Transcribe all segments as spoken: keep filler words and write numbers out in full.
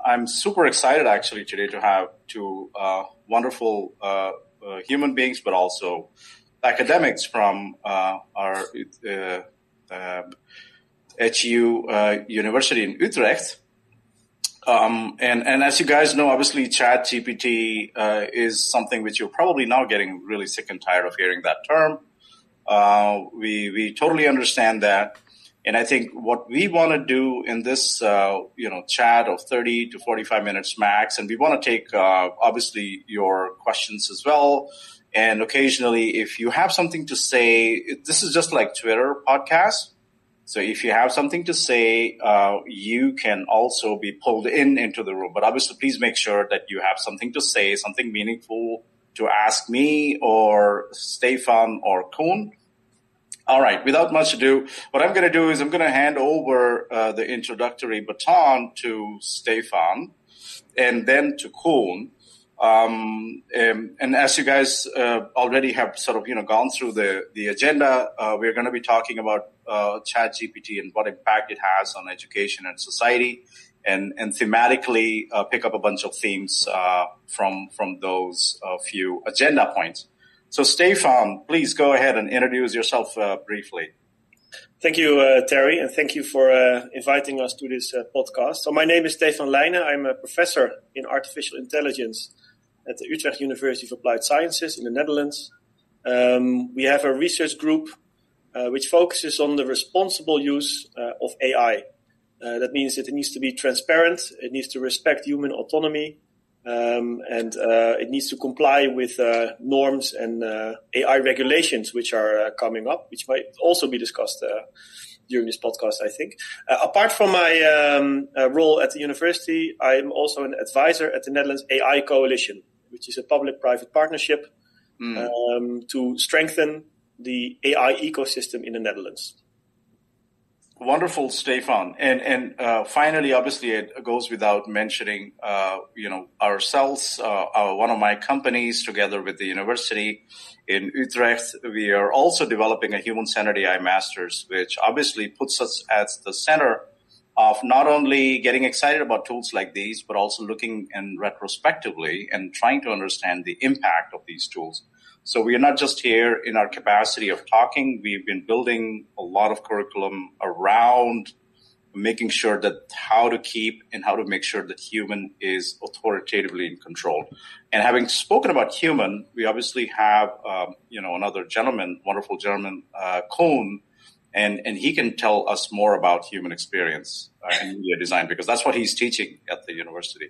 I'm super excited actually today to have two uh, wonderful uh, uh, human beings, but also academics from uh, our uh, uh, H U uh, University in Utrecht. Um, and, and as you guys know, obviously ChatGPT uh, is something which you're probably now getting really sick and tired of hearing that term. Uh, we we totally understand that. And I think what we want to do in this, uh, you know, chat of thirty to forty-five minutes max, and we want to take, uh, obviously, your questions as well. And occasionally, if you have something to say, this is just like Twitter podcast. So if you have something to say, uh, you can also be pulled in into the room. But obviously, please make sure that you have something to say, something meaningful to ask me or Stefan or Koen. All right, without much ado, what I'm going to do is I'm going to hand over uh, the introductory baton to Stefan and then to Koen. Um, and, and as you guys uh, already have sort of, you know, gone through the, the agenda, uh, we're going to be talking about uh, ChatGPT and what impact it has on education and society, and, and thematically uh, pick up a bunch of themes uh, from, from those uh, few agenda points. So, Stefan, please go ahead and introduce yourself uh, briefly. Thank you, uh, Terry, and thank you for uh, inviting us to this uh, podcast. So my name is Stefan Leijnen. I'm a professor in artificial intelligence at the Utrecht University of Applied Sciences in the Netherlands. Um, we have a research group uh, which focuses on the responsible use uh, of A I. Uh, that means that it needs to be transparent, it needs to respect human autonomy, Um, and uh, it needs to comply with uh, norms and uh, A I regulations which are uh, coming up, which might also be discussed uh, during this podcast, I think. Uh, apart from my um, uh, role at the university, I'm also an advisor at the Netherlands A I Coalition, which is a public-private partnership mm. um, to strengthen the A I ecosystem in the Netherlands. Wonderful, Stefan. And and uh, finally, obviously, it goes without mentioning, uh, you know, ourselves, uh, our, one of my companies, together with the university in Utrecht, we are also developing a human-centered A I master's, which obviously puts us at the center of not only getting excited about tools like these, but also looking and retrospectively and trying to understand the impact of these tools. So we are not just here in our capacity of talking. We've been building a lot of curriculum around making sure that how to keep and how to make sure that human is authoritatively in control. And having spoken about human, we obviously have, um, you know, another gentleman, wonderful gentleman, uh, Koen, and, and he can tell us more about human experience uh, and media design, because that's what he's teaching at the university.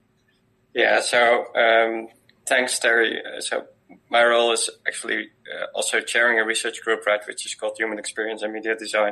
Yeah, so um, thanks, Terry. Uh, so my role is actually uh, also chairing a research group, right, which is called Human Experience and Media Design.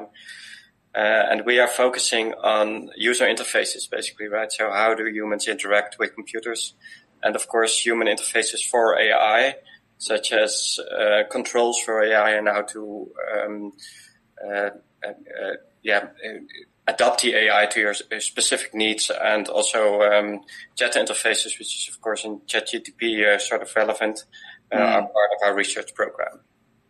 Uh, and we are focusing on user interfaces, basically, right? So how do humans interact with computers? And, of course, human interfaces for A I, such as uh, controls for A I and how to um, uh, uh, yeah, adapt the A I to your specific needs, and also um, chat interfaces, which is, of course, in ChatGPT uh, sort of relevant. Uh, mm. are part of our research program.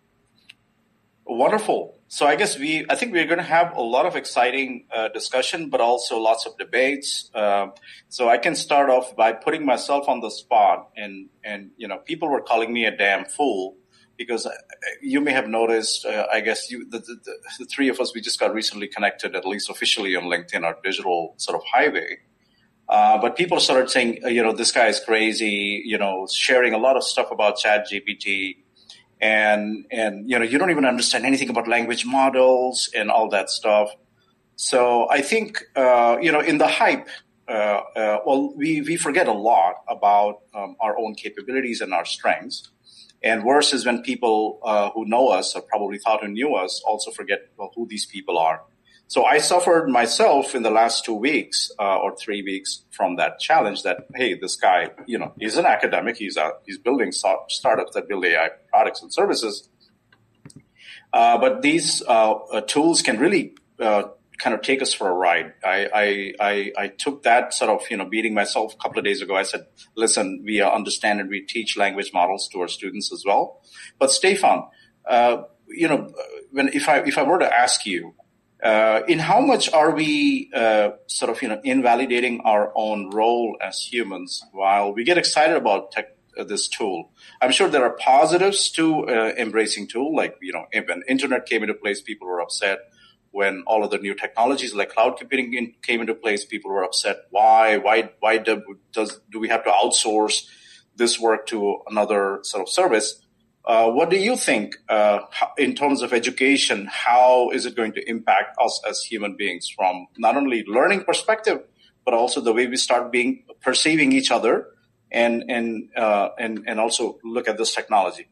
Wonderful. So I guess we, I think we're going to have a lot of exciting uh, discussion, but also lots of debates. Uh, so I can start off by putting myself on the spot, and, and, you know, people were calling me a damn fool because you may have noticed, uh, I guess you, the, the, the three of us, we just got recently connected, at least officially on LinkedIn, our digital sort of highway. Uh, but people started saying, you know, this guy is crazy, you know, sharing a lot of stuff about ChatGPT, and, and, you know, you don't even understand anything about language models and all that stuff. So I think, uh, you know, in the hype, uh, uh, well, we, we forget a lot about um, our own capabilities and our strengths. And worse is when people uh, who know us, or probably thought who knew us, also forget, well, who these people are. So I suffered myself in the last two weeks uh, or three weeks from that challenge that, hey, this guy, you know, he's an academic. He's a, he's building start- startups that build A I products and services. Uh, but these uh, uh, tools can really uh, kind of take us for a ride. I, I, I, I took that sort of, you know, beating myself a couple of days ago. I said, listen, we uh, understand and we teach language models to our students as well. But Stefan, uh, you know, when if I if I were to ask you, Uh, in how much are we uh, sort of, you know, invalidating our own role as humans while we get excited about tech, uh, this tool? I'm sure there are positives to uh, embracing tool, like, you know, when internet came into place, people were upset. When all of the new technologies like cloud computing in, came into place, people were upset. Why? Why? Why do, does do we have to outsource this work to another sort of service? Uh, what do you think uh, in terms of education? How is it going to impact us as human beings from not only learning perspective, but also the way we start being perceiving each other and and uh, and and also look at this technology?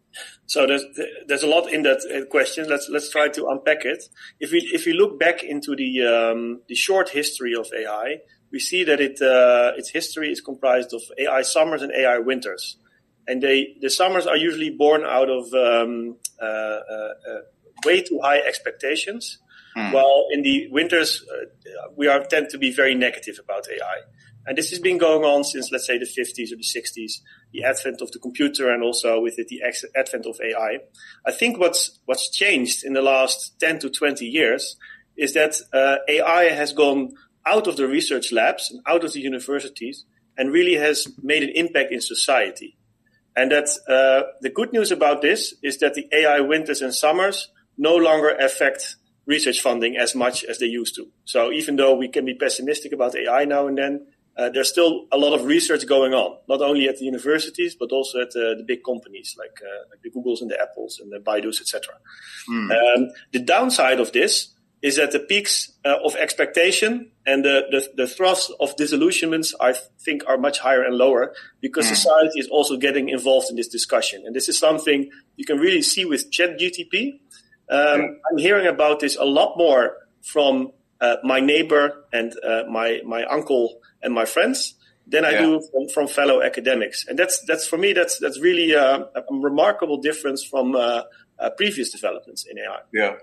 So there's there's a lot in that question. Let's let's try to unpack it. If we if we look back into the um, the short history of A I, we see that it uh, its history is comprised of A I summers and A I winters. And they, the summers are usually born out of um, uh, uh, uh, way too high expectations, mm. while in the winters uh, we are tend to be very negative about A I. And this has been going on since, let's say, the fifties or the sixties, the advent of the computer, and also with it the ex- advent of A I. I think what's what's changed in the last ten to twenty years is that uh, A I has gone out of the research labs and out of the universities and really has made an impact in society. And that uh, the good news about this is that the A I winters and summers no longer affect research funding as much as they used to. So even though we can be pessimistic about A I now and then, uh, there's still a lot of research going on, not only at the universities, but also at uh, the big companies like, uh, like the Googles and the Apples and the Baidus, et cetera. Mm. Um, the downside of this is that the peaks uh, of expectation and the, the, the thrust of disillusionments, I think, are much higher and lower because mm. society is also getting involved in this discussion. And this is something you can really see with ChatGTP. Um, yeah. I'm hearing about this a lot more from uh, my neighbor and uh, my my uncle and my friends than I yeah. do from, from fellow academics. And that's that's for me, that's that's really uh, a remarkable difference from uh, uh, previous developments in A I. Yeah.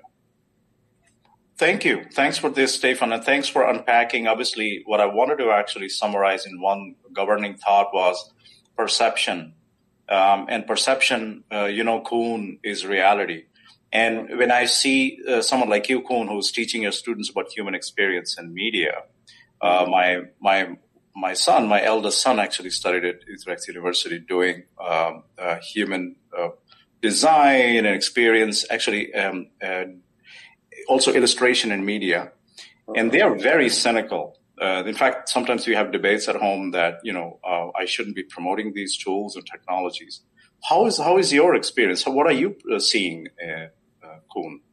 Thank you. Thanks for this, Stefan, and thanks for unpacking. Obviously, what I wanted to actually summarize in one governing thought was perception. Um, and perception, uh, you know, Koen, is reality. And when I see uh, someone like you, Koen, who's teaching your students about human experience and media, uh, my my my son, my eldest son, actually studied at Utrecht University doing um, uh, human uh, design and experience, actually um, uh, also illustration and media. And they are very cynical. Uh, in fact, sometimes we have debates at home that, you know, uh, I shouldn't be promoting these tools and technologies. How is how is your experience? What are you uh, seeing, uh, uh, Koen?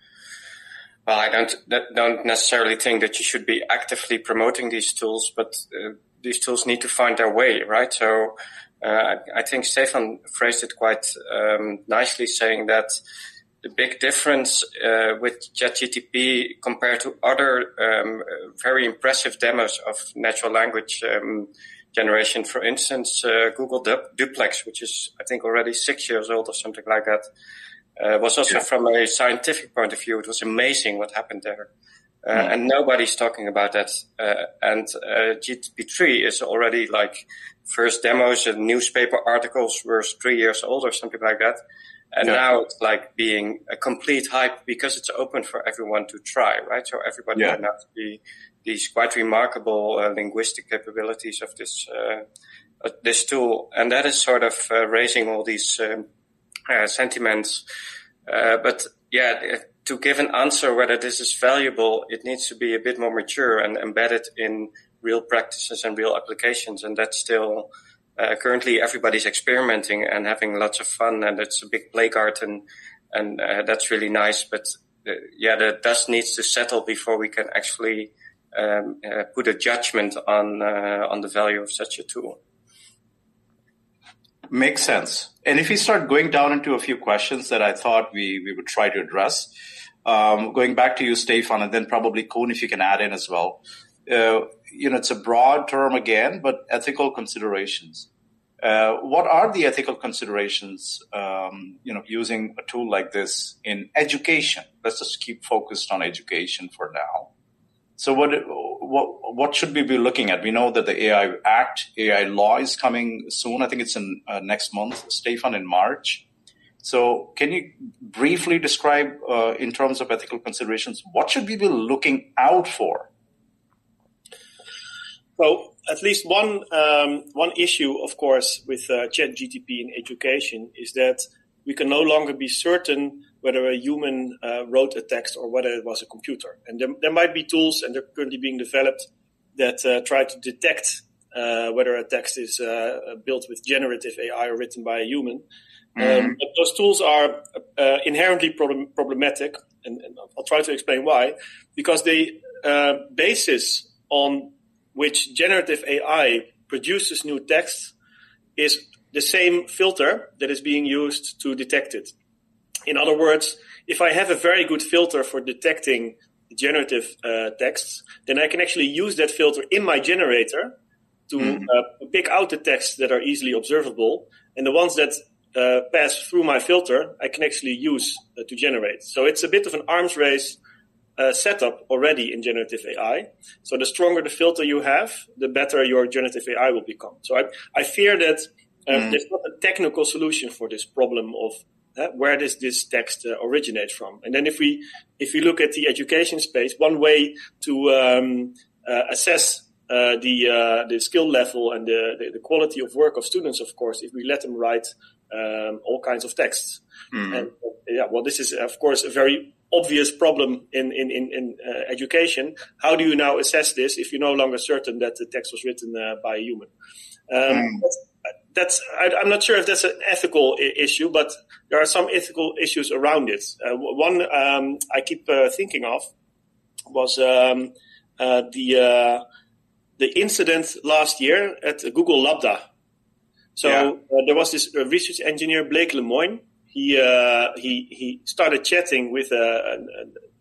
Well, I don't don't necessarily think that you should be actively promoting these tools, but uh, these tools need to find their way, right? So uh, I think Stefan phrased it quite um, nicely, saying that the big difference uh, with ChatGTP compared to other um, very impressive demos of natural language um, generation, for instance, uh, Google du- Duplex, which is, I think, already six years old or something like that, uh, was also yeah. from a scientific point of view, it was amazing what happened there. Uh, mm. And nobody's talking about that. Uh, and uh, G T P three is already like first demos and newspaper articles were three years old or something like that. And yeah. now it's like being a complete hype because it's open for everyone to try, right? So everybody yeah. can now see these quite remarkable uh, linguistic capabilities of this uh, uh, this tool, and that is sort of uh, raising all these um, uh, sentiments. Uh, but yeah, to give an answer whether this is valuable, it needs to be a bit more mature and embedded in real practices and real applications, and that's still. Uh, currently, everybody's experimenting and having lots of fun, and it's a big play garden, and uh, that's really nice. But uh, yeah, the dust needs to settle before we can actually um, uh, put a judgment on uh, on the value of such a tool. Makes sense. And if we start going down into a few questions that I thought we, we would try to address, um, going back to you, Stefan, and then probably Koen, if you can add in as well. Uh, you know, it's a broad term again, but ethical considerations. Uh, what are the ethical considerations, um, you know, using a tool like this in education? Let's just keep focused on education for now. So what, what, what should we be looking at? We know that the A I Act, A I law is coming soon. I think it's in uh, next month, Stefan, in March. So can you briefly describe, uh, in terms of ethical considerations, what should we be looking out for? So at least one um, one issue, of course, with uh, ChatGPT in education is that we can no longer be certain whether a human uh, wrote a text or whether it was a computer. And there, there might be tools, and they're currently being developed, that uh, try to detect uh, whether a text is uh, built with generative A I or written by a human. Mm-hmm. Um, but those tools are uh, inherently problem- problematic, and, and I'll try to explain why. Because the uh, basis on which generative A I produces new text is the same filter that is being used to detect it. In other words, if I have a very good filter for detecting generative uh, texts, then I can actually use that filter in my generator to mm. uh, pick out the texts that are easily observable, and the ones that uh, pass through my filter, I can actually use uh, to generate. So it's a bit of an arms race Uh, setup already in generative A I. So the stronger the filter you have, the better your generative A I will become. So I, I fear that uh, mm. there's not a technical solution for this problem of uh, where does this text uh, originate from. And then if we if we look at the education space, one way to um, uh, assess uh, the uh, the skill level and the, the the quality of work of students, of course, if we let them write um, all kinds of texts. Mm. And uh, yeah, well, this is of course a very obvious problem in in in, in uh, education. How do you now assess this if you're no longer certain that the text was written uh, by a human? Um, mm. That's, that's I, I'm not sure if that's an ethical I- issue, but there are some ethical issues around it. Uh, one um, I keep uh, thinking of was um, uh, the uh, the incident last year at Google Lambda. So yeah. uh, there was this uh, research engineer, Blake Lemoine. He uh, he he started chatting with a, a,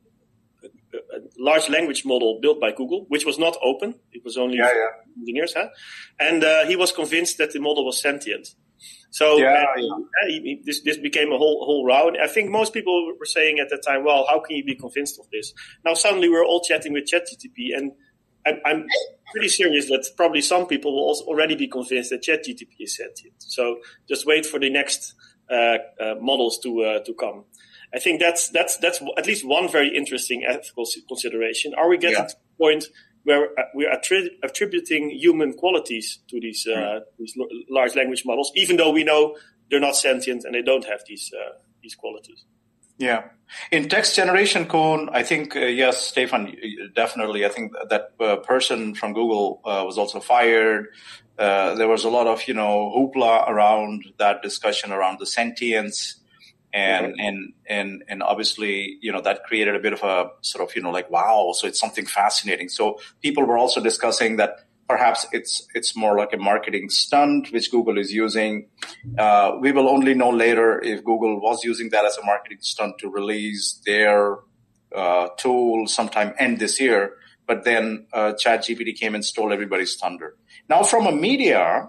a large language model built by Google, which was not open. It was only yeah, for yeah. engineers, huh? And uh, he was convinced that the model was sentient. So yeah, uh, yeah. He, he, this this became a whole whole row. And I think most people were saying at that time, "Well, how can you be convinced of this?" Now suddenly we're all chatting with ChatGPT, and I'm, I'm pretty serious that probably some people will also already be convinced that ChatGPT is sentient. So just wait for the next Uh, uh, models to uh, to come. I think that's that's that's at least one very interesting ethical consideration. Are we getting yeah. to the point where uh, we're attri- attributing human qualities to these uh, mm. these l- large language models, even though we know they're not sentient and they don't have these uh, these qualities? Yeah. In text generation, Koen, I think, uh, yes, Stefan, definitely. I think that uh, person from Google uh, was also fired. Uh, there was a lot of, you know, hoopla around that discussion around the sentience. And, mm-hmm. and, and, and obviously, you know, that created a bit of a sort of, you know, like, wow, so it's something fascinating. So people were also discussing that perhaps it's, it's more like a marketing stunt, which Google is using. Uh, we will only know later if Google was using that as a marketing stunt to release their, uh, tool sometime end this year. But then, uh, ChatGPT came and stole everybody's thunder. Now, from a media,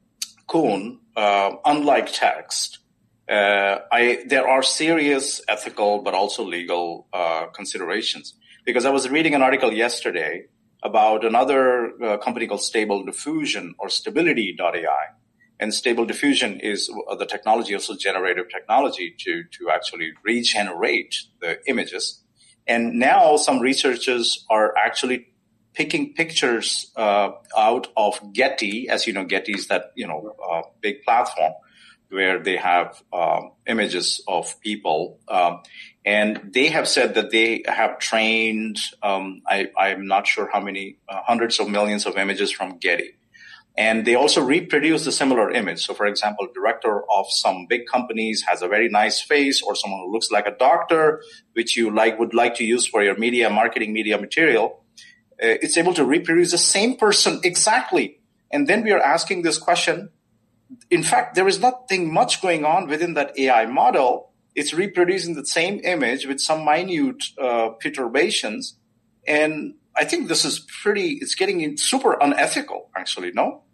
Koen, uh, unlike text, uh, I, there are serious ethical but also legal uh, considerations. Because I was reading an article yesterday about another uh, company called Stable Diffusion or Stability dot A I. And Stable Diffusion is the technology, also generative technology, to, to actually regenerate the images. And now some researchers are actually picking pictures uh, out of Getty. As you know, Getty is that, you know, uh, big platform where they have um, images of people. Um, and they have said that they have trained, um, I, I'm not sure how many, uh, hundreds of millions of images from Getty. And they also reproduce the similar image. So, for example, director of some big companies has a very nice face, or someone who looks like a doctor, which you like would like to use for your media, marketing media material. Uh, it's able to reproduce the same person exactly. And then we are asking this question. In fact, there is nothing much going on within that A I model. It's reproducing the same image with some minute uh, perturbations. And I think this is pretty, it's getting super unethical, actually, no?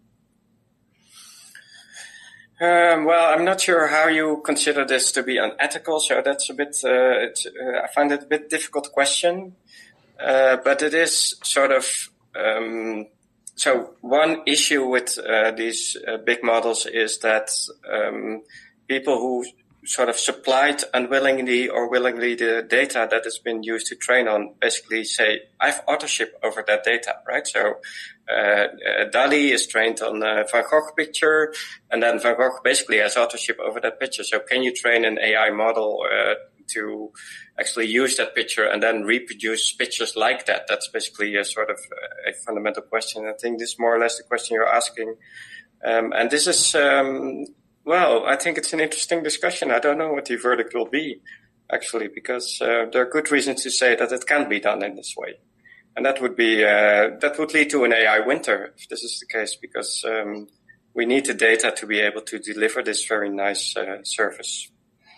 Um, well, I'm not sure how you consider this to be unethical, so that's a bit, uh, it's, uh, I find it a bit difficult question. Uh, but it is sort of, um, so one issue with uh, these uh, big models is that um, people who sort of supplied unwillingly or willingly the data that has been used to train on, basically say, I have authorship over that data, right? So uh, uh, DALL-E is trained on a Van Gogh picture, and then Van Gogh basically has authorship over that picture. So can you train an A I model uh, to actually use that picture and then reproduce pictures like that? That's basically a sort of a fundamental question. I think this is more or less the question you're asking. Um, and this is... Um, Well, I think it's an interesting discussion. I don't know what the verdict will be, actually, because uh, there are good reasons to say that it can be done in this way. And that would be uh, that would lead to an A I winter, if this is the case, because um, we need the data to be able to deliver this very nice uh, service.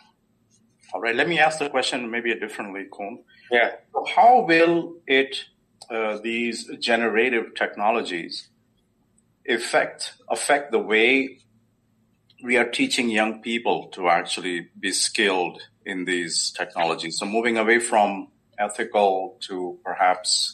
All right, let me ask the question maybe differently, Koen. Yeah. So how will it, uh, these generative technologies, affect affect the way we are teaching young people to actually be skilled in these technologies? So moving away from ethical to perhaps,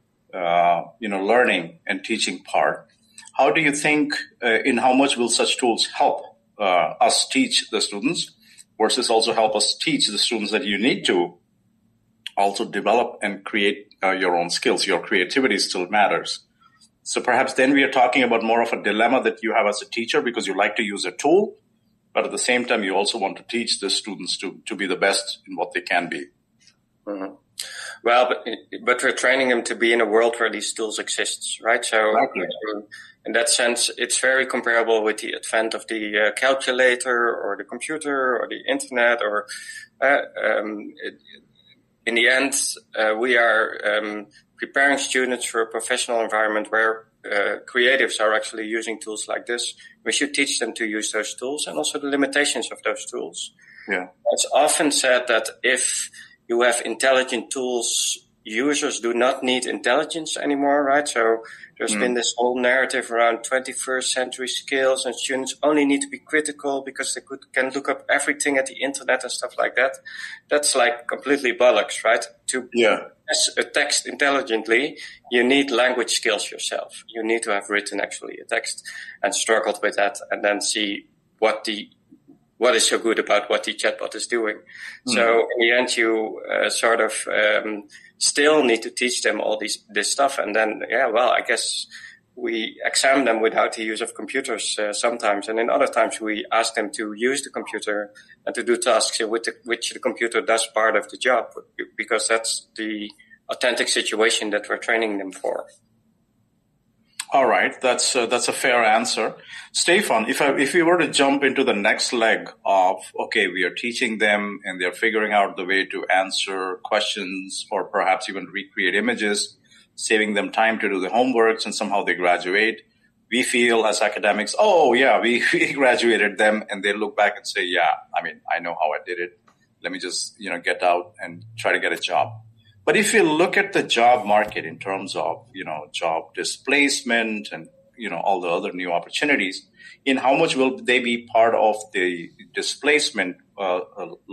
uh, you know, learning and teaching part. How do you think, uh, in how much will such tools help uh, us teach the students versus also help us teach the students that you need to also develop and create uh, your own skills? Your creativity still matters. So perhaps then we are talking about more of a dilemma that you have as a teacher, because you like to use a tool, but at the same time, you also want to teach the students to, to be the best in what they can be. Mm-hmm. Well, but, but we're training them to be in a world where these tools exist, right? So exactly. um, in that sense, it's very comparable with the advent of the uh, calculator or the computer or the internet, or uh, um, it, in the end, uh, we are um, preparing students for a professional environment where uh, creatives are actually using tools like this. We should teach them to use those tools and also the limitations of those tools. Yeah. It's often said that if you have intelligent tools, users do not need intelligence anymore, right? So there's mm. been this whole narrative around twenty-first century skills, and students only need to be critical because they could, can look up everything at the internet and stuff like that. That's like completely bollocks, right? To yeah. process a text intelligently, you need language skills yourself. You need to have written actually a text and struggled with that, and then see what the what is so good about what the chatbot is doing. Mm. So in the end, you uh, sort of um, still need to teach them all these this stuff. And then, yeah, well, I guess we examine them without the use of computers uh, sometimes. And in other times, we ask them to use the computer and to do tasks in which the, which the computer does part of the job, because that's the authentic situation that we're training them for. All right, that's uh, that's a fair answer, Stefan. If I, if we were to jump into the next leg of, okay, we are teaching them and they're figuring out the way to answer questions or perhaps even recreate images, saving them time to do the homeworks, and somehow they graduate. We feel as academics, oh yeah, we, we graduated them, and they look back and say, yeah, I mean, I know how I did it. Let me just, you know, get out and try to get a job. But if you look at the job market in terms of, you know, job displacement and, you know, all the other new opportunities, in how much will they be part of the displacement uh,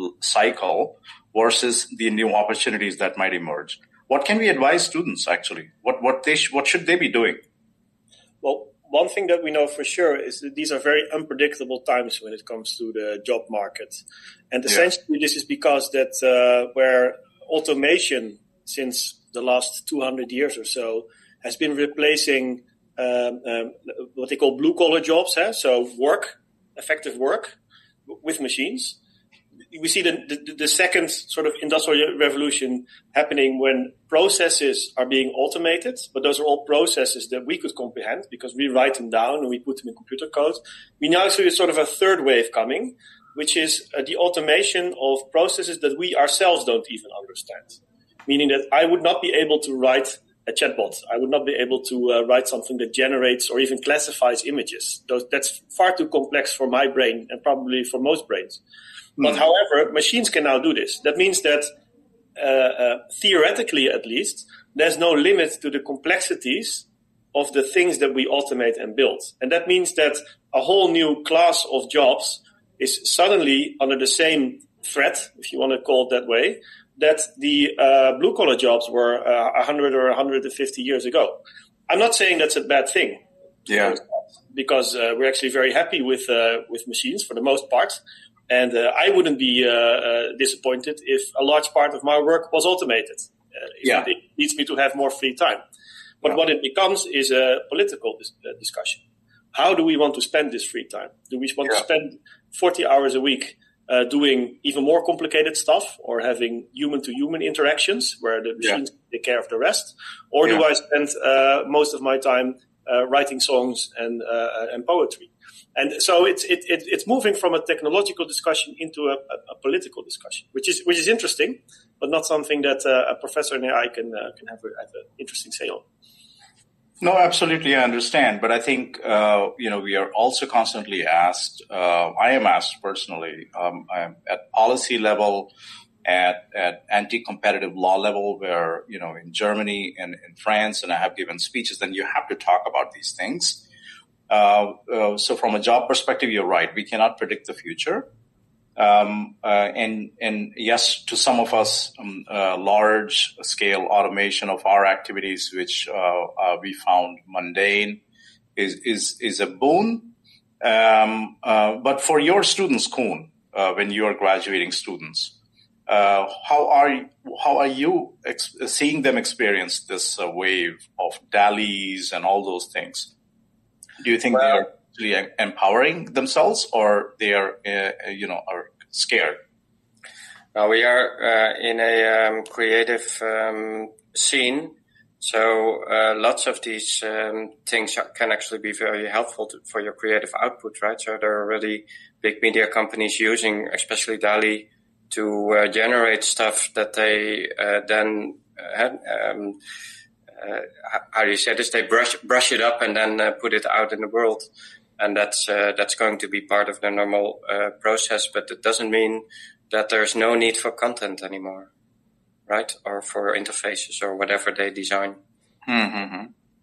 cycle versus the new opportunities that might emerge? What can we advise students actually? What what they sh- what should they be doing? Well, one thing that we know for sure is that these are very unpredictable times when it comes to the job market, and essentially yeah. this is because that uh, where automation since the last two hundred years or so has been replacing um, um, what they call blue-collar jobs, eh? so work, effective work with machines. We see the, the, the second sort of industrial revolution happening when processes are being automated, but those are all processes that we could comprehend because we write them down and we put them in computer code. We now see sort of a third wave coming, which is uh, the automation of processes that we ourselves don't even understand. Meaning that I would not be able to write a chatbot. I would not be able to uh, write something that generates or even classifies images. Those, that's far too complex for my brain and probably for most brains. Mm. But however, machines can now do this. That means that uh, uh, theoretically, at least, there's no limit to the complexities of the things that we automate and build. And that means that a whole new class of jobs is suddenly under the same threat, if you want to call it that way, that the uh, blue-collar jobs were uh, one hundred or one hundred fifty years ago. I'm not saying that's a bad thing. Yeah. Because uh, we're actually very happy with uh, with machines for the most part. And uh, I wouldn't be uh, uh, disappointed if a large part of my work was automated. Uh, if yeah. it needs me to have more free time. But yeah. what it becomes is a political dis- uh, discussion. How do we want to spend this free time? Do we want yeah. to spend forty hours a week uh, doing even more complicated stuff, or having human-to-human interactions where the machines yeah. take care of the rest? Or yeah. do I spend uh, most of my time uh, writing songs and uh, and poetry? And so it's it, it, it's moving from a technological discussion into a, a, a political discussion, which is which is interesting, but not something that uh, a professor in A I can uh, can have, a, have an interesting say on. No, absolutely, I understand. But I think, uh, you know, we are also constantly asked, uh, I am asked personally, um, I'm at policy level, at, at anti-competitive law level, where, you know, in Germany and in France, and I have given speeches, then you have to talk about these things. Uh, uh, so from a job perspective, you're right. We cannot predict the future. Um, uh, and, and yes, to some of us, um, uh, large scale automation of our activities, which, uh, uh, we found mundane, is, is, is a boon. Um, uh, but for your students, Koen, uh, when you are graduating students, uh, how are you, how are you ex- seeing them experience this uh, wave of DALL-E's and all those things? Do you think well, they are actually empowering themselves, or they are, uh, you know, are scared? Well, we are uh, in a um, creative um, scene, so uh, lots of these um, things can actually be very helpful to, for your creative output, right? So there are already big media companies using, especially DALL-E, to uh, generate stuff that they uh, then uh, um, Uh, how do you say this? They brush brush it up and then uh, put it out in the world, and that's uh, that's going to be part of the normal uh, process. But it doesn't mean that there's no need for content anymore, right? Or for interfaces or whatever they design. Mm-hmm.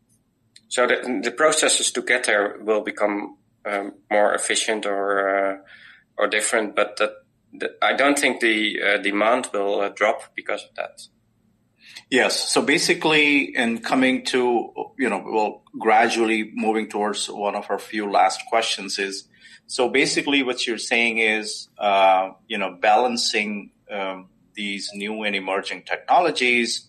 So the, the processes to get there will become um, more efficient or uh, or different, but that, that I don't think the uh, demand will uh, drop because of that. Yes. So basically, in coming to, you know, well, gradually moving towards one of our few last questions is, so basically what you're saying is, uh, you know, balancing um, these new and emerging technologies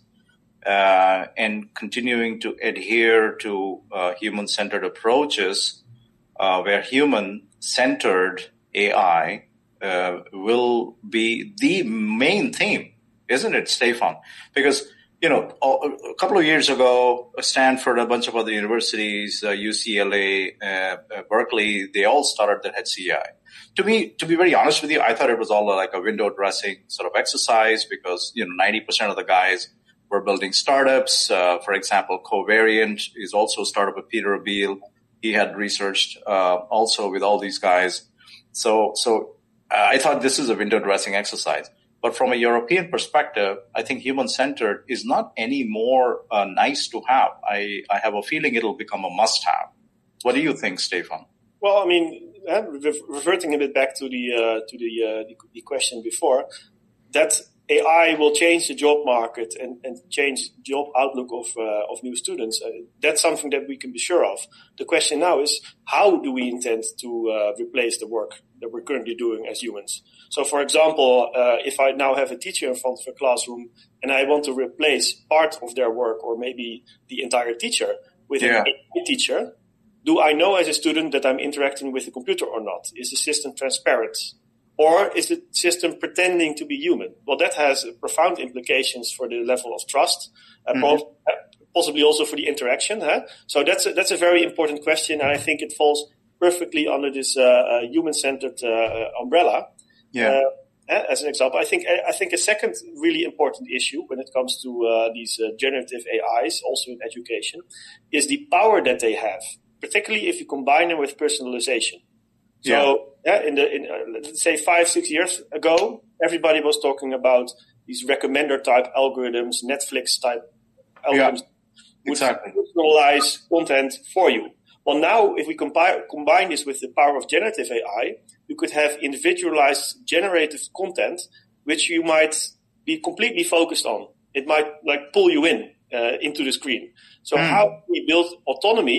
uh, and continuing to adhere to uh, human-centered approaches uh, where human-centered A I uh, will be the main theme, isn't it, Stefan? Because You know, a couple of years ago, Stanford, a bunch of other universities, uh, U C L A, uh, uh, Berkeley, they all started their H C I. To me, to be very honest with you, I thought it was all like a window dressing sort of exercise because, you know, ninety percent of the guys were building startups. Uh, for example, Covariant is also a startup of Peter Abbeel. He had researched uh, also with all these guys. So, so uh, I thought this is a window dressing exercise. But from a European perspective, I think human-centered is not any more uh, nice to have. I, I have a feeling it'll become a must-have. What do you think, Stefan? Well, I mean, uh, reverting a bit back to the uh, to the, uh, the the question before, that A I will change the job market and, and change the job outlook of uh, of new students. Uh, that's something that we can be sure of. The question now is, how do we intend to uh, replace the work that we're currently doing as humans? So, for example, uh, if I now have a teacher in front of a classroom and I want to replace part of their work or maybe the entire teacher with yeah. an A I teacher, do I know as a student that I'm interacting with the computer or not? Is the system transparent? Or is the system pretending to be human? Well, that has profound implications for the level of trust, uh, mm-hmm. possibly also for the interaction. Huh? So that's a, that's a very important question, and I think it falls perfectly under this uh, uh, human-centered uh, umbrella. Yeah. Uh, as an example, I think I think a second really important issue when it comes to uh, these uh, generative A Is, also in education, is the power that they have, particularly if you combine them with personalization. So, yeah, yeah in the in, uh, let's say five six years ago, everybody was talking about these recommender type algorithms, Netflix type algorithms, yeah, exactly. would personalize content for you. Well, now if we combine combine this with the power of generative A I, you could have individualized generative content, which you might be completely focused on. It might like pull you in uh, into the screen. So mm. how do we build autonomy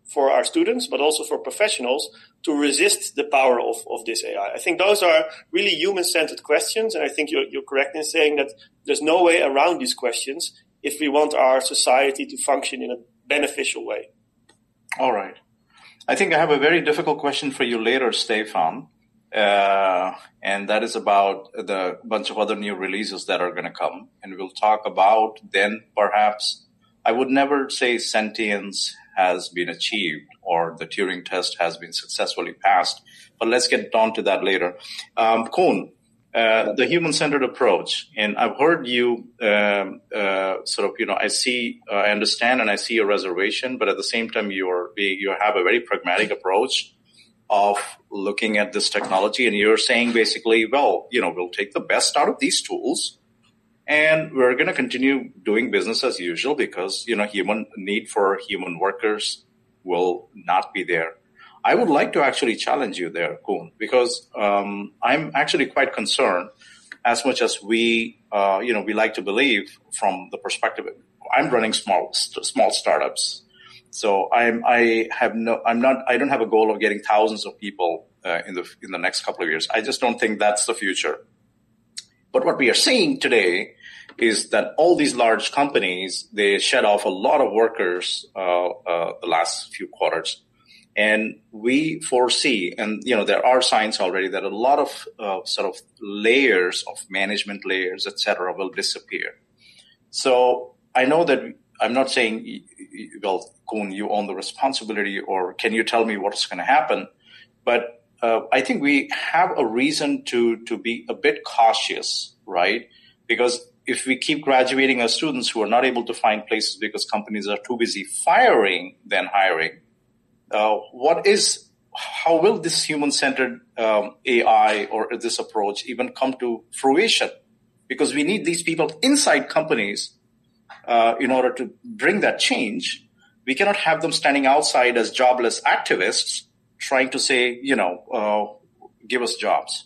for our students, but also for professionals to resist the power of, of this A I? I think those are really human-centered questions, and I think you're, you're correct in saying that there's no way around these questions if we want our society to function in a beneficial way. All right. I think I have a very difficult question for you later, Stefan, uh, and that is about the bunch of other new releases that are going to come, and we'll talk about then perhaps, I would never say sentience has been achieved or the Turing test has been successfully passed, but let's get on to that later. Um, Koen, uh, the human-centered approach, and I've heard you um, uh, sort of, you know, I see, uh, I understand and I see your reservation, but at the same time, you're being, you have a very pragmatic approach of looking at this technology, and you're saying basically, well, you know, we'll take the best out of these tools, and we're going to continue doing business as usual because, you know, human need for human workers will not be there. I would like to actually challenge you there, Koen, because um, I'm actually quite concerned as much as we, uh, you know, we like to believe from the perspective. I'm running small, st- small startups. So I'm, I have no, I'm not, I don't have a goal of getting thousands of people uh, in the, in the next couple of years. I just don't think that's the future. But what we are seeing today is that all these large companies, they shed off a lot of workers uh, uh, the last few quarters. And we foresee, and, you know, there are signs already that a lot of uh, sort of layers of management layers, et cetera, will disappear. So I know that I'm not saying, well, Koen, you own the responsibility, or can you tell me what's going to happen? But uh, I think we have a reason to, to be a bit cautious, right? Because if we keep graduating our students who are not able to find places because companies are too busy firing than hiring, uh, what is, how will this human-centered um, A I or this approach even come to fruition? Because we need these people inside companies uh, in order to bring that change. We cannot have them standing outside as jobless activists trying to say, you know, uh, give us jobs.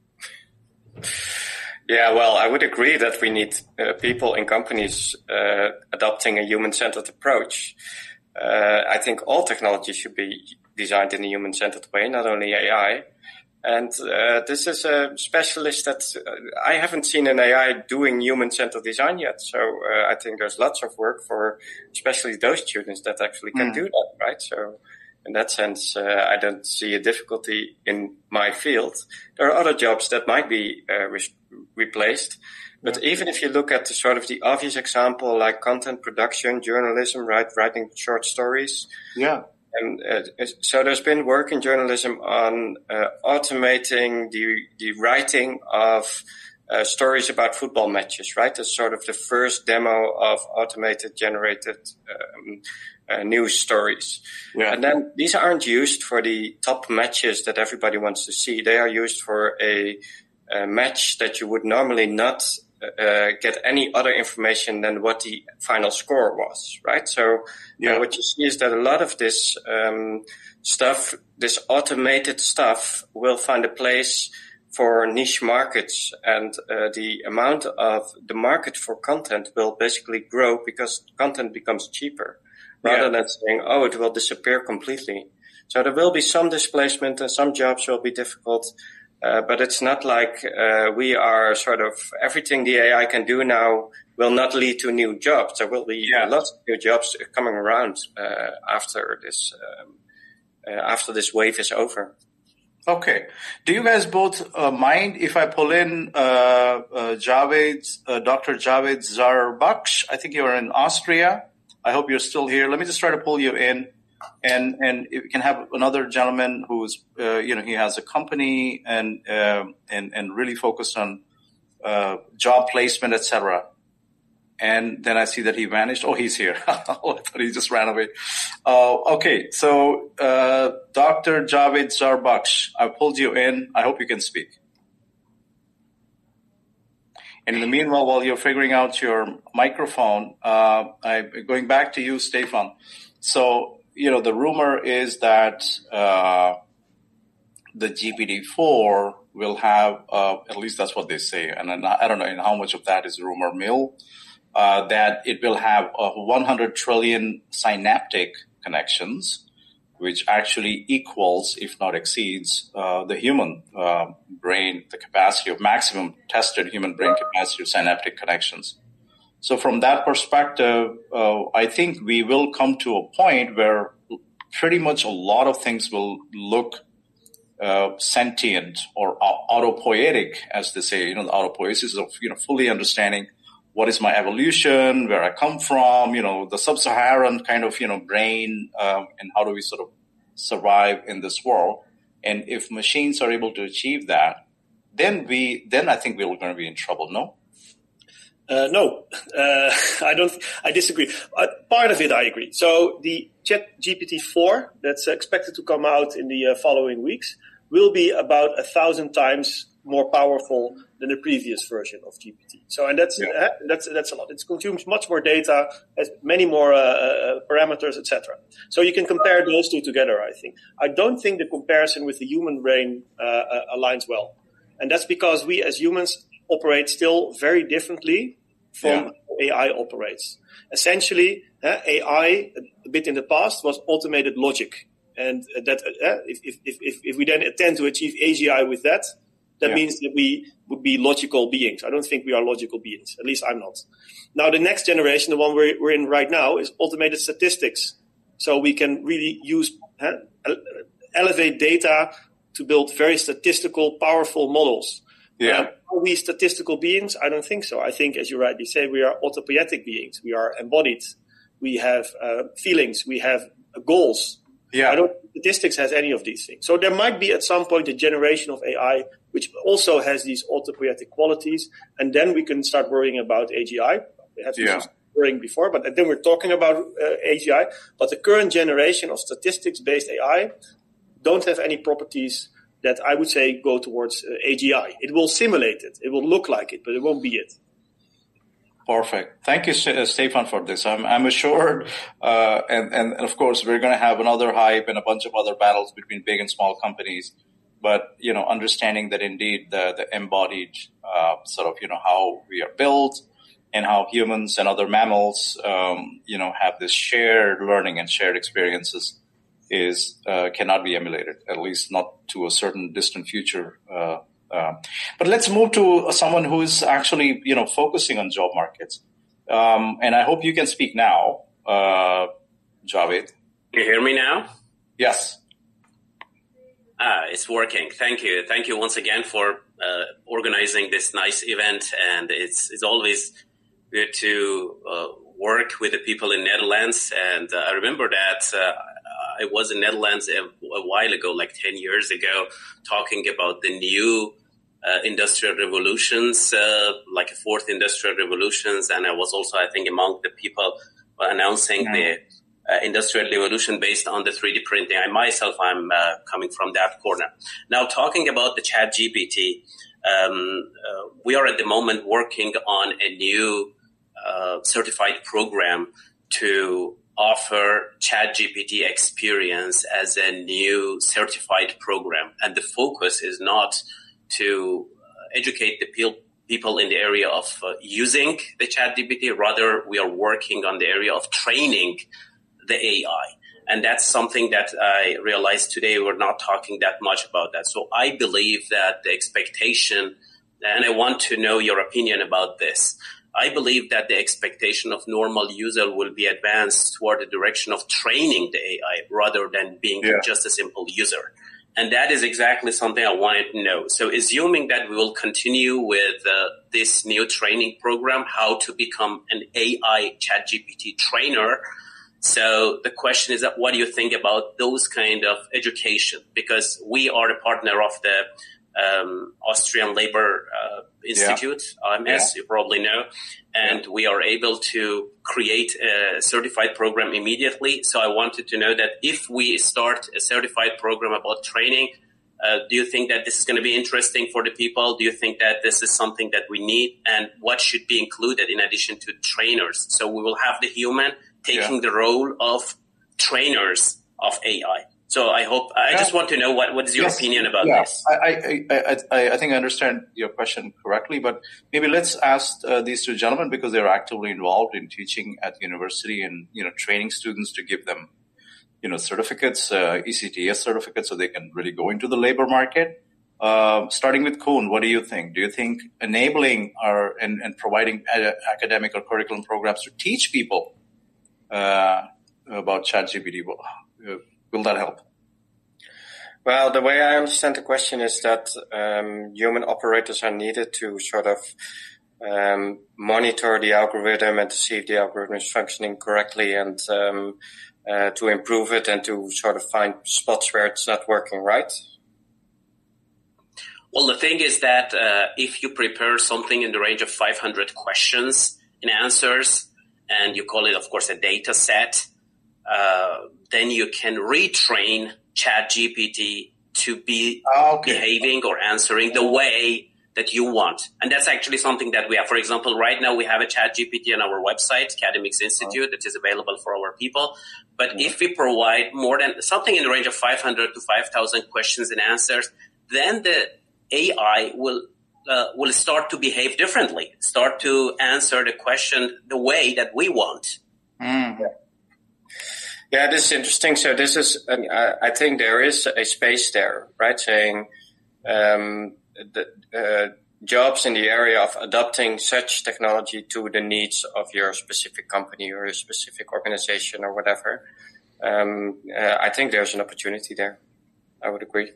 Yeah, well, I would agree that we need uh, people in companies uh, adopting a human-centered approach. Uh, I think all technology should be designed in a human-centered way, not only A I. And uh, this is a specialist that uh, I haven't seen an A I doing human-centered design yet. So uh, I think there's lots of work for especially those students that actually can mm. do that, right? So in that sense, uh, I don't see a difficulty in my field. There are other jobs that might be uh, re- replaced. But yeah. Even if you look at the sort of the obvious example, like content production, journalism, right, writing short stories. Yeah. And uh, so there's been work in journalism on uh, automating the the writing of uh, stories about football matches, right? That's sort of the first demo of automated generated um, uh, news stories. Yeah. And then these aren't used for the top matches that everybody wants to see. They are used for a, a match that you would normally not Uh, get any other information than what the final score was, right? So yeah. uh, what you see is that a lot of this um, stuff, this automated stuff, will find a place for niche markets, and uh, the amount of the market for content will basically grow because content becomes cheaper, rather yeah. than saying, oh, it will disappear completely. So there will be some displacement and some jobs will be difficult. Uh, but it's not like uh, we are sort of everything the A I can do now will not lead to new jobs. There will be yeah. lots of new jobs coming around uh, after this um, uh, after this wave is over. Okay. Do you guys both uh, mind if I pull in uh, uh, Javed, uh, Doctor Javed Zarbaksh? I think you're in Austria. I hope you're still here. Let me just try to pull you in. And and we can have another gentleman who's uh, you know he has a company and uh, and and really focused on uh, job placement, et cetera. And then I see that he vanished. Oh, he's here. Oh, I thought he just ran away. Uh, okay, so uh, Doctor Javed Zarbaksh, I pulled you in. I hope you can speak. And in the meanwhile, while you're figuring out your microphone, uh, I'm going back to you, Stefan. So. You know, the rumor is that uh, the G P T four will have, uh, at least that's what they say, and I don't know in how much of that is rumor mill, uh, that it will have uh, one hundred trillion synaptic connections, which actually equals, if not exceeds, uh, the human uh, brain, the capacity of maximum tested human brain capacity of synaptic connections. So from that perspective, uh, I think we will come to a point where pretty much a lot of things will look uh, sentient or autopoietic, as they say, you know, the autopoiesis of, you know, fully understanding what is my evolution, where I come from, you know, the sub-Saharan kind of, you know, brain, um, and how do we sort of survive in this world. And if machines are able to achieve that, then we, then I think we're going to be in trouble, no? Uh, no, uh, I don't, I disagree. Uh, part of it I agree. So the ChatGPT four that's expected to come out in the uh, following weeks will be about a thousand times more powerful than the previous version of G P T. So, and that's, yeah. uh, that's, that's a lot. It consumes much more data, has many more uh, uh, parameters, et cetera. So you can compare those two together, I think. I don't think the comparison with the human brain uh, uh, aligns well. And that's because we as humans operate still very differently from yeah. how A I operates. Essentially, uh, A I, a bit in the past, was automated logic. And uh, that uh, if, if, if, if we then attempt to achieve A G I with that, that yeah. means that we would be logical beings. I don't think we are logical beings. At least I'm not. Now, the next generation, the one we're, we're in right now, is automated statistics. So we can really use, uh, elevate data to build very statistical, powerful models. Yeah. Um, are we statistical beings? I don't think so. I think, as you rightly say, we are autopoietic beings. We are embodied. We have uh, feelings. We have uh, goals. Yeah. I don't think statistics has any of these things. So there might be at some point a generation of A I which also has these autopoietic qualities, and then we can start worrying about A G I. We have yeah. worrying before, but then we're talking about uh, A G I. But the current generation of statistics-based A I don't have any properties that I would say go towards uh, A G I. It will simulate it. It will look like it, but it won't be it. Perfect. Thank you, Stefan, for this. I'm, I'm assured, uh, and, and of course, we're going to have another hype and a bunch of other battles between big and small companies. But, you know, understanding that indeed the, the embodied uh, sort of, you know, how we are built and how humans and other mammals, um, you know, have this shared learning and shared experiences is uh, cannot be emulated, at least not to a certain distant future. Uh, uh, but let's move to someone who is actually, you know, focusing on job markets. Um, and I hope you can speak now, uh, Javed. Can you hear me now? Yes. Ah, it's working. Thank you. Thank you once again for uh, organizing this nice event. And it's it's always good to uh, work with the people in Netherlands. And uh, I remember that uh, I was in Netherlands a, a while ago, like ten years ago, talking about the new uh, industrial revolutions, uh, like a fourth industrial revolutions. And I was also, I think, among the people announcing yeah. the Uh, industrial revolution based on the three D printing. I myself, I'm uh, coming from that corner. Now, talking about the ChatGPT, um, uh, we are at the moment working on a new uh, certified program to offer ChatGPT experience as a new certified program. And the focus is not to educate the pe- people in the area of uh, using the ChatGPT. Rather, we are working on the area of training the A I. And that's something that I realized today we're not talking that much about that. So I believe that the expectation, and I want to know your opinion about this, I believe that the expectation of normal user will be advanced toward the direction of training the A I rather than being yeah. just a simple user. And that is exactly something I wanted to know. So assuming that we will continue with uh, this new training program, how to become an A I ChatGPT trainer. So the question is that what do you think about those kind of education? Because we are a partner of the um, Austrian Labor uh, Institute, yeah. O M S, yeah. you probably know, and yeah. we are able to create a certified program immediately. So I wanted to know that if we start a certified program about training, uh, do you think that this is going to be interesting for the people? Do you think that this is something that we need? And what should be included in addition to trainers? So we will have the human taking yeah. the role of trainers of A I. So I hope, I yeah. just want to know what, what is your yes. opinion about yeah. this? I, I, I, I think I understand your question correctly, but maybe let's ask uh, these two gentlemen because they're actively involved in teaching at the university and, you know, training students to give them you know, certificates, uh, E C T S certificates, so they can really go into the labor market. Uh, starting with Koen, what do you think? Do you think enabling our and, and providing a, academic or curriculum programs to teach people uh, about ChatGPT, will, will that help? Well, the way I understand the question is that um, human operators are needed to sort of um, monitor the algorithm and to see if the algorithm is functioning correctly, and um, uh, to improve it and to sort of find spots where it's not working right. Well, the thing is that uh, if you prepare something in the range of five hundred questions and answers, and you call it, of course, a data set, uh, then you can retrain ChatGPT to be okay. behaving or answering the way that you want. And that's actually something that we have. For example, right now we have a ChatGPT on our website, Academics Institute, that is available for our people. But mm-hmm. if we provide more than something in the range of five hundred to five thousand questions and answers, then the A I will uh, will start to behave differently, start to answer the question the way that we want. Mm. Yeah. yeah, this is interesting. So this is, uh, I think there is a space there, right? Saying um, the uh, jobs in the area of adopting such technology to the needs of your specific company or your specific organization or whatever. Um, uh, I think there's an opportunity there. I would agree.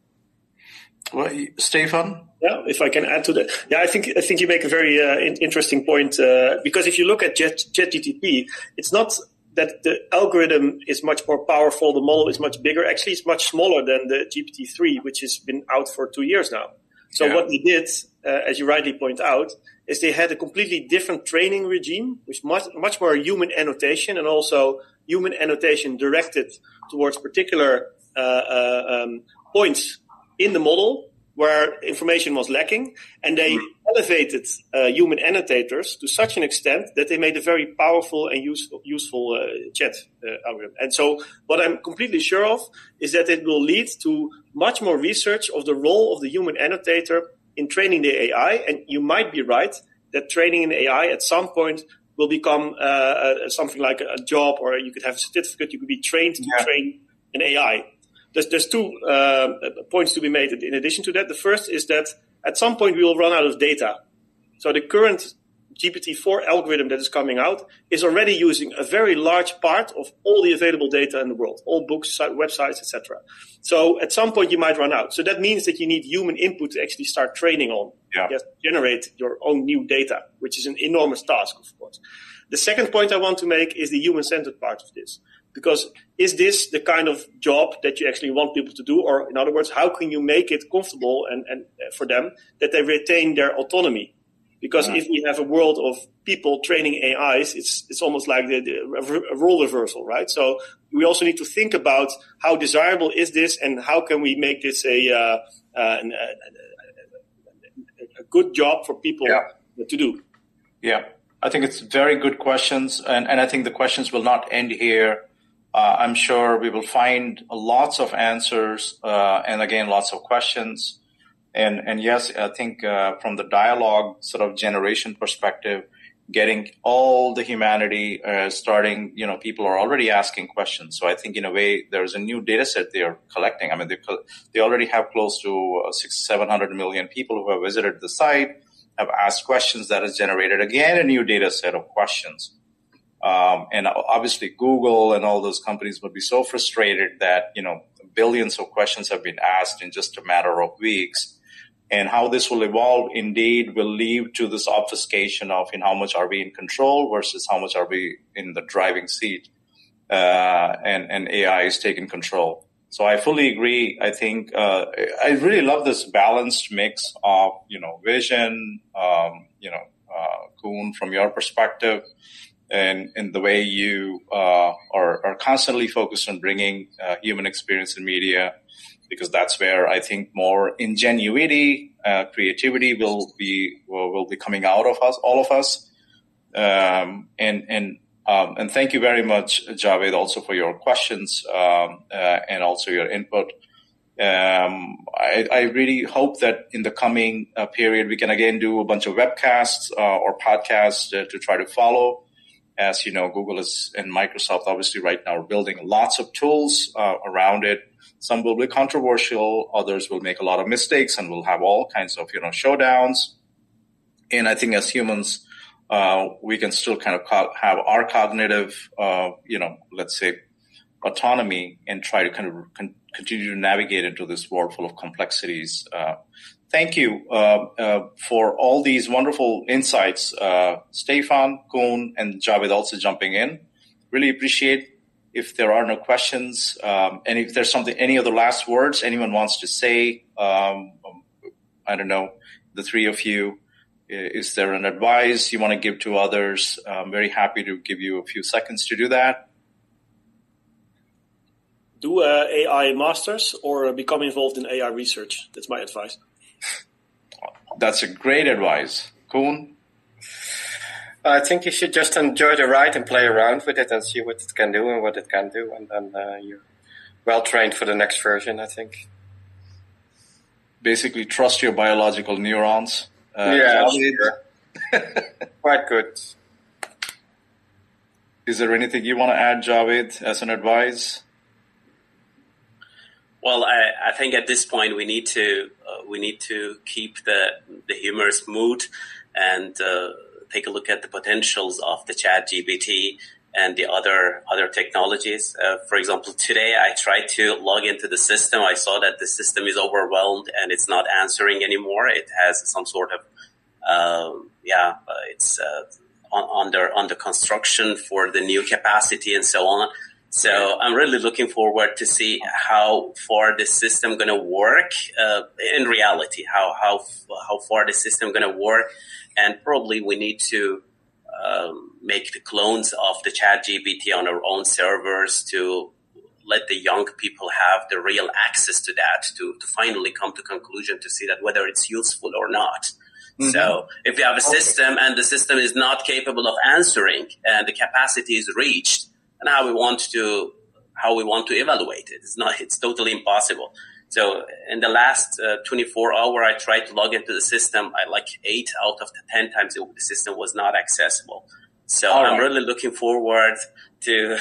Well, Stefan? Yeah, if I can add to that. Yeah, I think I think you make a very uh, in- interesting point, uh, because if you look at Chat ChatGPT, it's not that the algorithm is much more powerful, the model is much bigger. Actually, it's much smaller than the G P T three, which has been out for two years now. So yeah. what they did, uh, as you rightly point out, is they had a completely different training regime, which much much more human annotation, and also human annotation directed towards particular uh, uh, um, points in the model where information was lacking, and they mm. elevated uh, human annotators to such an extent that they made a very powerful and useful, useful uh, chat uh, algorithm. And so what I'm completely sure of is that it will lead to much more research of the role of the human annotator in training the A I. And you might be right that training an A I at some point will become uh, uh, something like a job, or you could have a certificate. You could be trained to yeah. train an A I. There's, there's two uh, points to be made in addition to that. The first is that at some point we will run out of data. So the current G P T four algorithm that is coming out is already using a very large part of all the available data in the world, all books, websites, et cetera. So at some point you might run out. So that means that you need human input to actually start training on, yeah. yes, generate your own new data, which is an enormous task, of course. The second point I want to make is the human-centered part of this. Because is this the kind of job that you actually want people to do? Or in other words, how can you make it comfortable and, and for them that they retain their autonomy? Because yeah. if we have a world of people training A Is, it's it's almost like the, the a role reversal, right? So we also need to think about how desirable is this, and how can we make this a uh, uh, an, a, a good job for people yeah. to do. Yeah, I think it's very good questions, and, and I think the questions will not end here. Uh, I'm sure we will find lots of answers, uh, and again, lots of questions. And, and yes, I think, uh, from the dialogue sort of generation perspective, getting all the humanity, uh, starting, you know, people are already asking questions. So I think in a way, there's a new data set they are collecting. I mean, they, they already have close to uh, six, seven hundred million people who have visited the site, have asked questions that has generated again a new data set of questions. Um, and obviously Google and all those companies would be so frustrated that, you know, billions of questions have been asked in just a matter of weeks. And how this will evolve indeed will lead to this obfuscation of in how much are we in control versus how much are we in the driving seat, uh, and, and A I is taking control. So I fully agree. I think, uh, I really love this balanced mix of, you know, vision, um, you know, uh, Koen, from your perspective, and in the way you, uh, are, are constantly focused on bringing, uh, human experience in media, because that's where I think more ingenuity, uh, creativity will be, will, will be coming out of us, all of us. Um, and, and, um, and thank you very much, Javed, also for your questions, um, uh, and also your input. Um, I, I really hope that in the coming uh, period, we can again do a bunch of webcasts, uh, or podcasts uh, to try to follow As you know, Google is and Microsoft obviously right now are building lots of tools uh, around it. Some will be controversial, others will make a lot of mistakes and will have all kinds of, you know, showdowns. And I think as humans, uh, we can still kind of co- have our cognitive, uh, you know, let's say autonomy and try to kind of con- continue to navigate into this world full of complexities. Uh, thank you uh, uh, for all these wonderful insights. Uh, Stefan, Koen, and Javed also jumping in. Really appreciate. If there are no questions, um, and if there's something, any other last words anyone wants to say, um, I don't know, the three of you, is there an advice you want to give to others? I'm very happy to give you a few seconds to do that. Do uh, A I masters or become involved in A I research. That's my advice. That's a great advice. Koen? I think you should just enjoy the ride and play around with it and see what it can do and what it can do. And then uh, you're well trained for the next version, I think. Basically, trust your biological neurons. Uh, yeah, sure. Quite good. Is there anything you want to add, Javed, as an advice? Well, I, I think at this point we need to uh, we need to keep the the humorous mood and uh, take a look at the potentials of the ChatGPT and the other other technologies. Uh, for example, today I tried to log into the system. I saw that the system is overwhelmed and it's not answering anymore. It has some sort of um, yeah, uh, it's uh, on, under under construction for the new capacity and so on. So I'm really looking forward to see how far the system going to work uh, in reality. How how how far the system going to work, and probably we need to um, make the clones of the ChatGPT on our own servers to let the young people have the real access to that to to finally come to conclusion to see that whether it's useful or not. Mm-hmm. So if we have a system and the system is not capable of answering and the capacity is reached, and how we want to how we want to evaluate it. It's not. It's totally impossible. So in the last uh, twenty-four hour, I tried to log into the system. I like eight out of the ten times it, the system was not accessible. So All I'm right. really looking forward to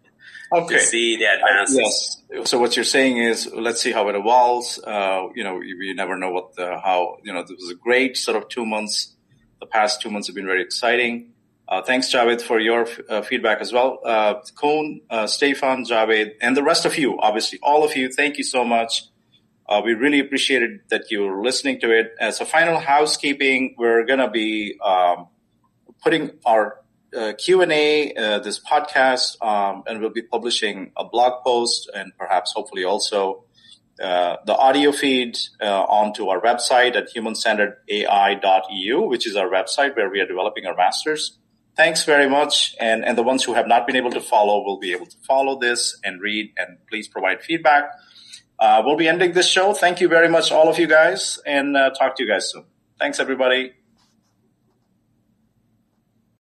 okay. to see the advances. Uh, yes. So what you're saying is, let's see how it evolves. Uh, you know, you, you never know what the how. You know, this was a great sort of two months. The past two months have been very exciting. Uh, thanks, Javed, for your uh, feedback as well. Uh, Koen, uh, Stefan, Javed, and the rest of you, obviously, all of you, thank you so much. Uh, we really appreciated that you were listening to it. As a final housekeeping, we're going to be um, putting our uh, Q and A, uh, this podcast, um, and we'll be publishing a blog post and perhaps hopefully also uh, the audio feed uh, onto our website at human centered A I dot E U, which is our website where we are developing our masters. Thanks very much. And, and the ones who have not been able to follow will be able to follow this and read, and please provide feedback. Uh, we'll be ending this show. Thank you very much, all of you guys, and uh, talk to you guys soon. Thanks, everybody.